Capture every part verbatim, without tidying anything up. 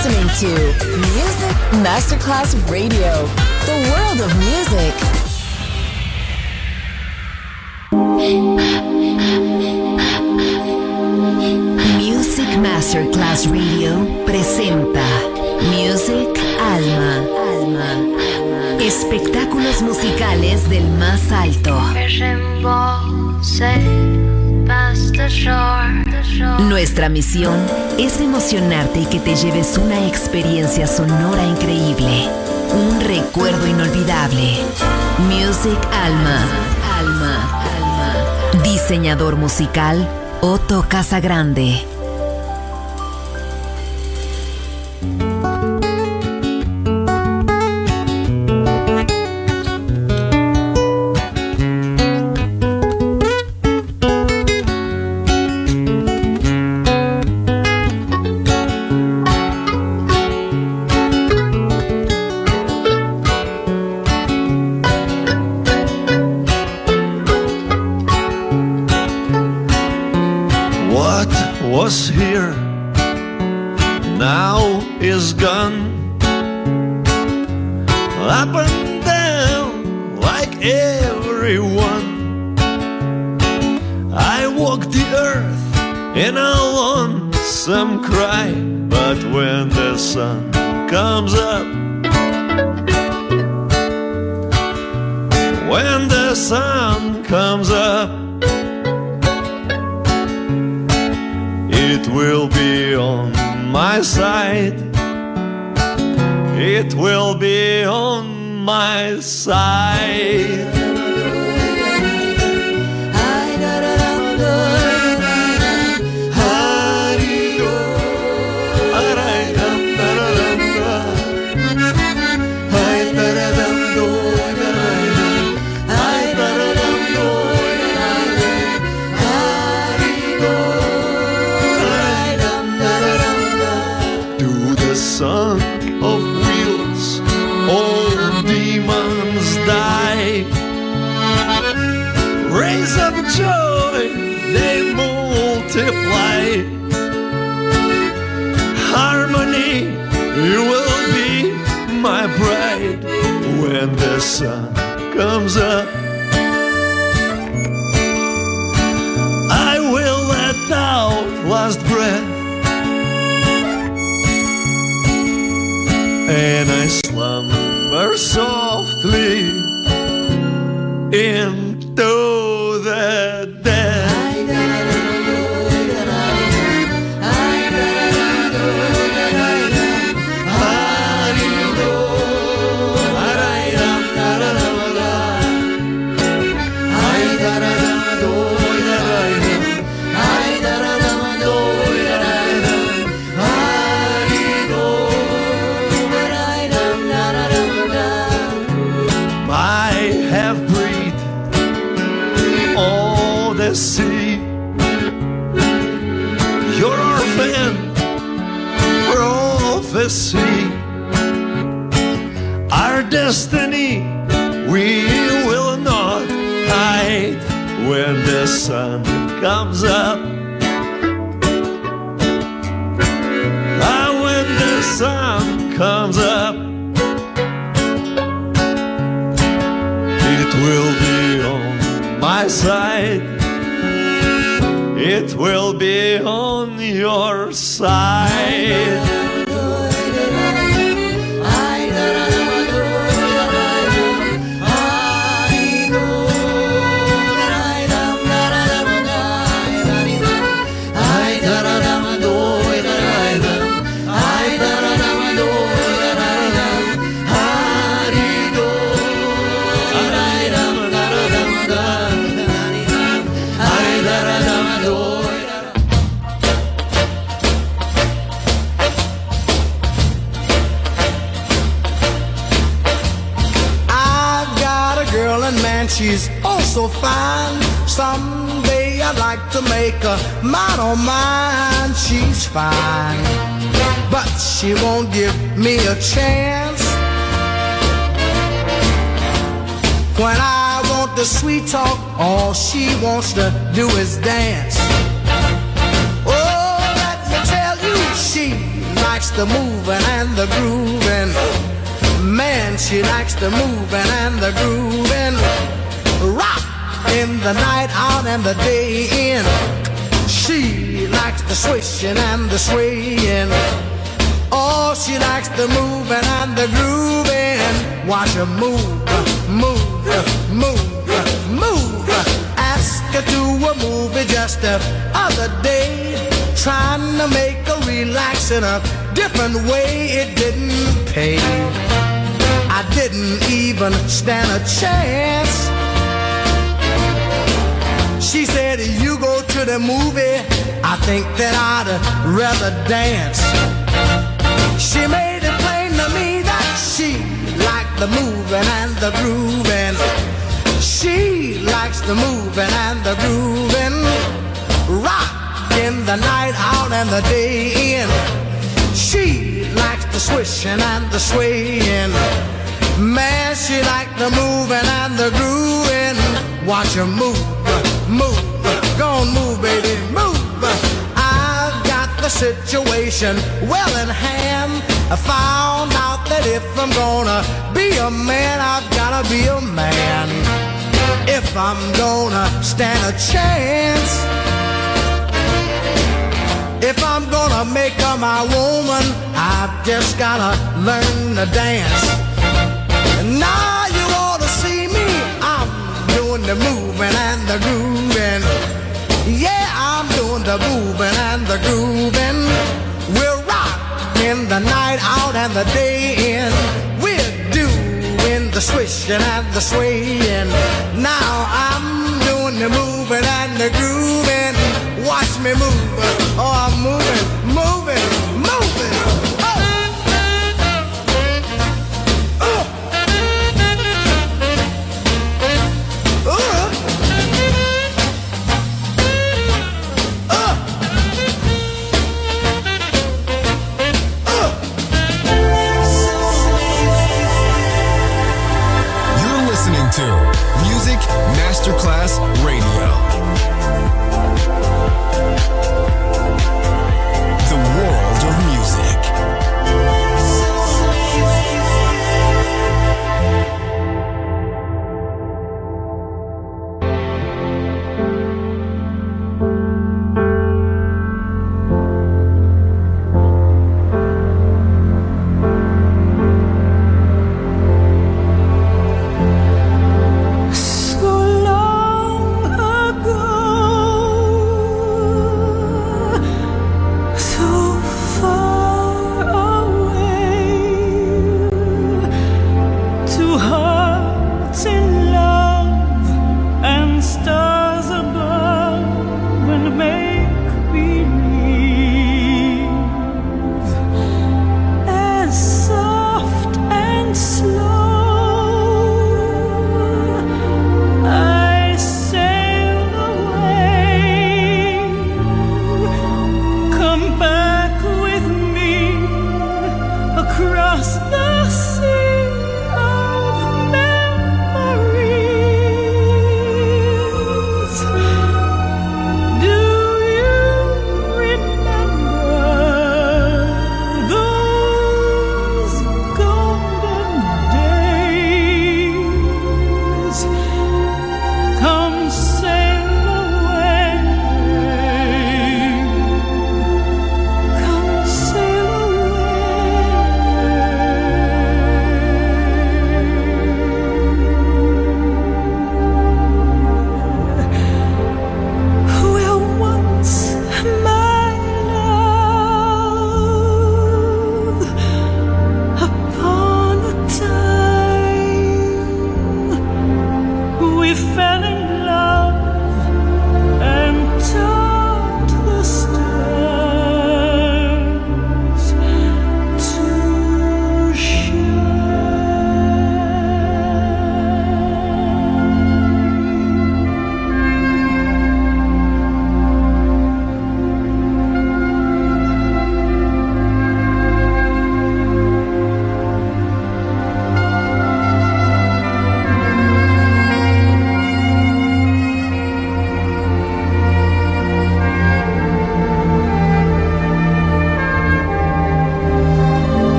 listening to Music Masterclass Radio, the world of music. Music Masterclass Radio presenta Music Alma. Alma. Espectáculos musicales del más alto. Nuestra misión es emocionarte y que te lleves una experiencia sonora increíble, un recuerdo inolvidable. Music Alma. Alma. Alma. Diseñador musical Otto Casagrande. Was here, now is gone. Up and down like everyone. I walk the earth in a lonesome cry, but when the sun comes up, when the sun comes up, it will be on my side. It will be on my side. Son of wheels, all demons die. Rays of joy, they multiply. Harmony, you will be my bride when the sun comes up. I will let out last breath, and I slumber softly into the dead. See, your orphan prophecy, our destiny we will not hide when the sun comes up. Ah, when the sun comes up, it will be on my side. It will be on your side. She's oh so fine. Someday I'd like to make her mine, oh mine. She's fine, but she won't give me a chance. When I want the sweet talk, all she wants to do is dance. Oh, let me tell you, she's my likes the moving and the grooving. Man, she likes the moving and the grooving. Rock in the night out and the day in. She likes the swishing and the swaying. Oh, she likes the moving and the grooving. Watch her move, move, move, move. Ask her to a movie just the other day, trying to make her relax in a different way. It didn't pay. I didn't even stand a chance. She said, you go to the movie, I think that I'd rather dance. She made it plain to me that she liked the moving and the grooving. She likes the moving and the grooving. Rock in the night out and the day in. She likes the swishing and the swaying. Man, she liked the moving and the grooving. Watch her move, move, go on, move, baby, move. I've got the situation well in hand. I found out that if I'm gonna be a man, I've gotta be a man. If I'm gonna stand a chance, if I'm gonna make her my woman, I've just gotta learn to dance. Now you ought to see me, I'm doing the moving and the grooving. Yeah, I'm doing the moving and the grooving. We're rocking the night out and the day in. We're doing the swishing and the swaying. Now I'm doing the moving and the grooving. Watch me move, oh I'm moving, moving, moving. To Music Masterclass Radio.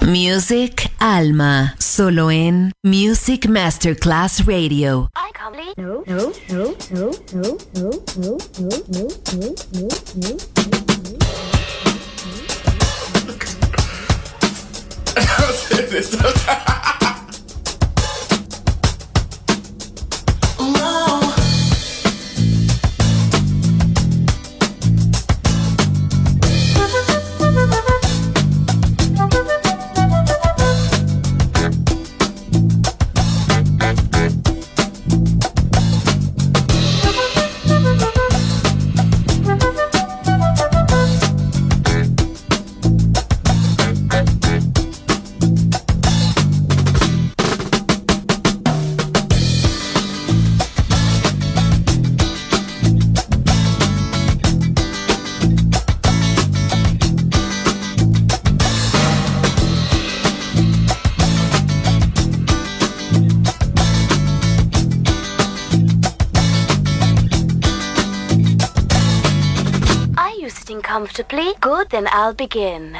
Music Alma, solo en Music Masterclass Radio. I can't believe no, no, no, no, no, no, no, no, no, no, no, no. Comfortably? Good, then I'll begin.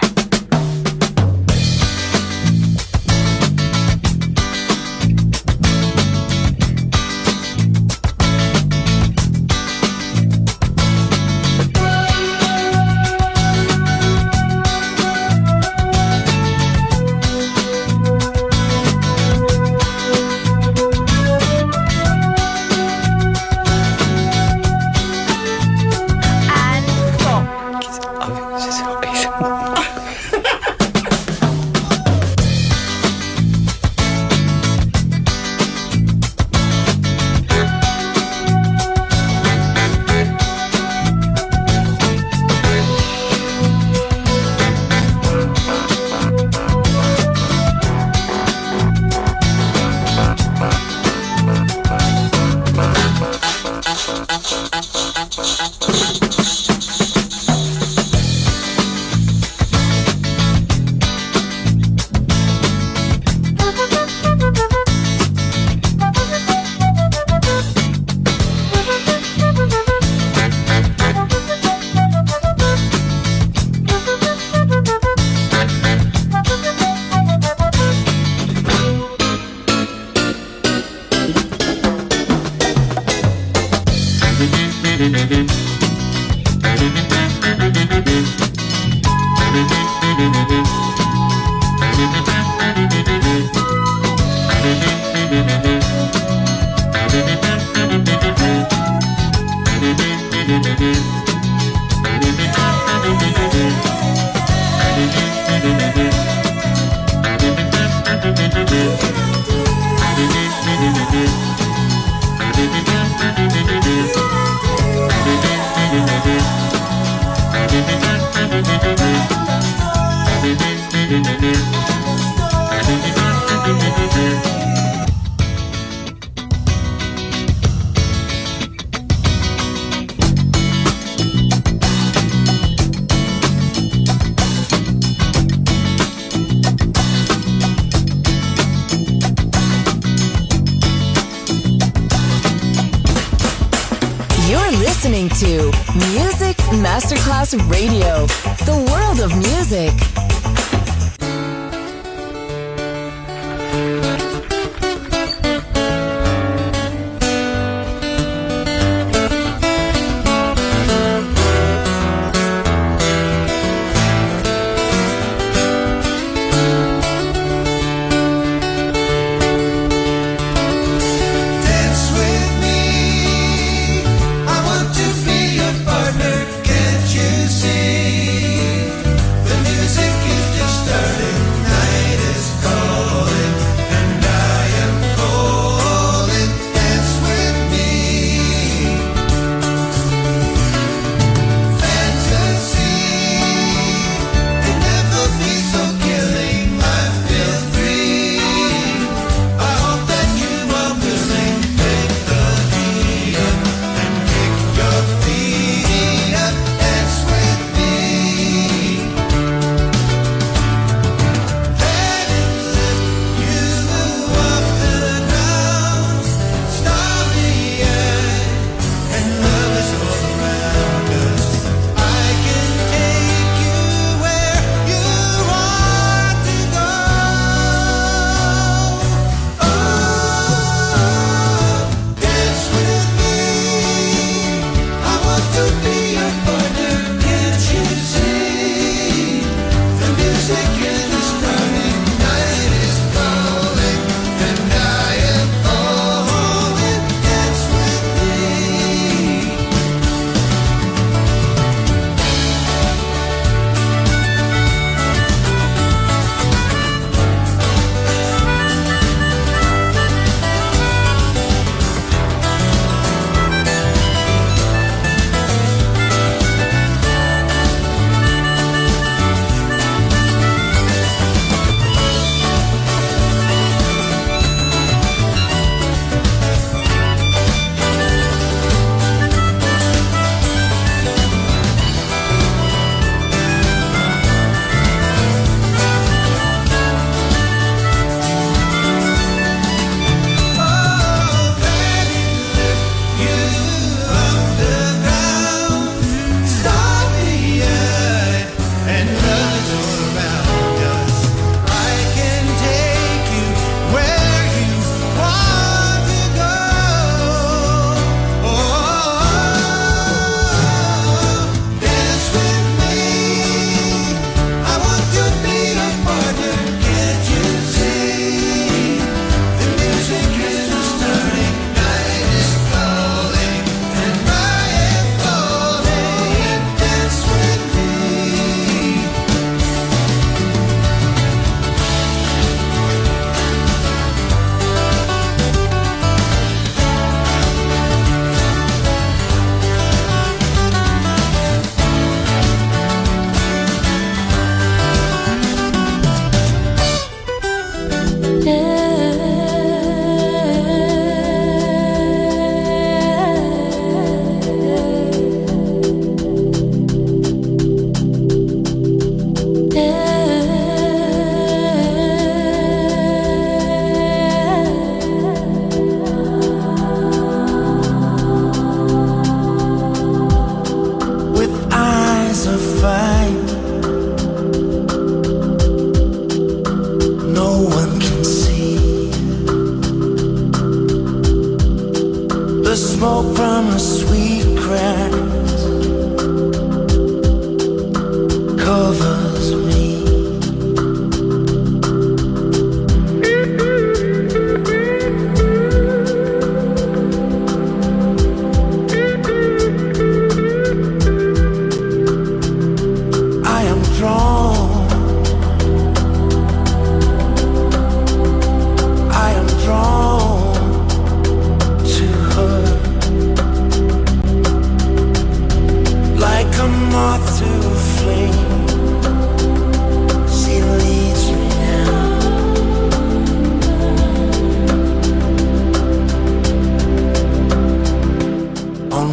Listening to Music Masterclass Radio, the world of music. Music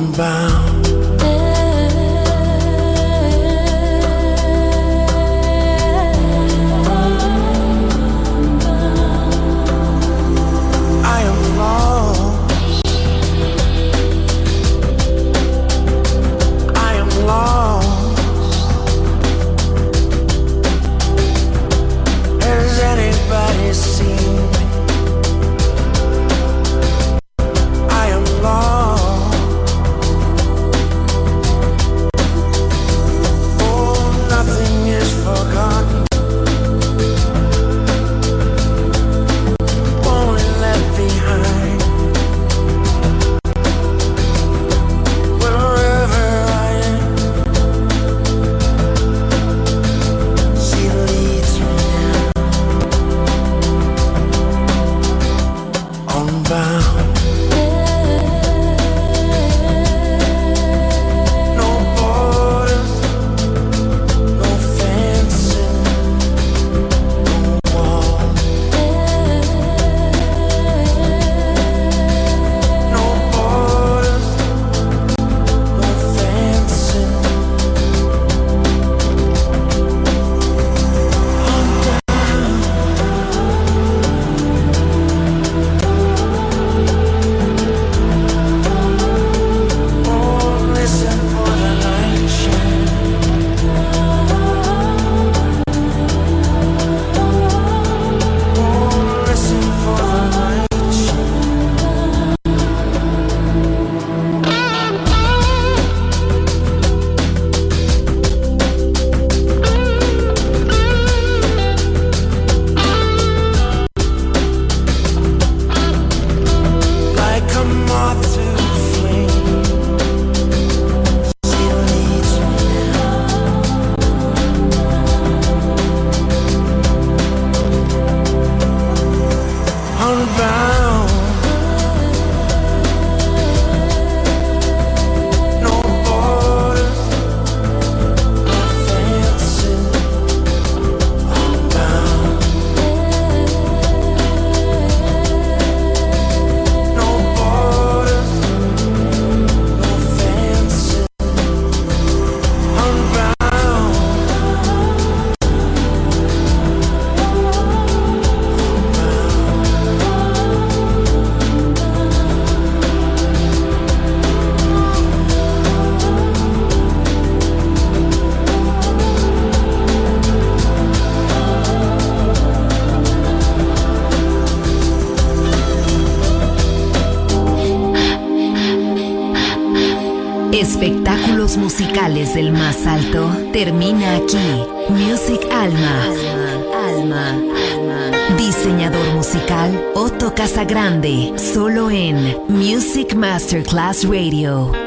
Unbound. I am lost. I am lost. Has anybody seen me? I am lost. Oh, nothing is forgotten. Only left behind. Wherever I am, she leads me now, unbound. No borders, no fencing, no wall. No borders, no fencing. Oh, listen for the light shine. Oh, listen for the light shine. Like a moth to the flame, she leads me now, unbound. No borders, no fencing, unbound. No borders, no fencing, unbound. Espectáculos musicales del más alto termina aquí. Music Alma. Alma. Alma. Diseñador musical Otto Casagrande. Solo en Music Masterclass Radio.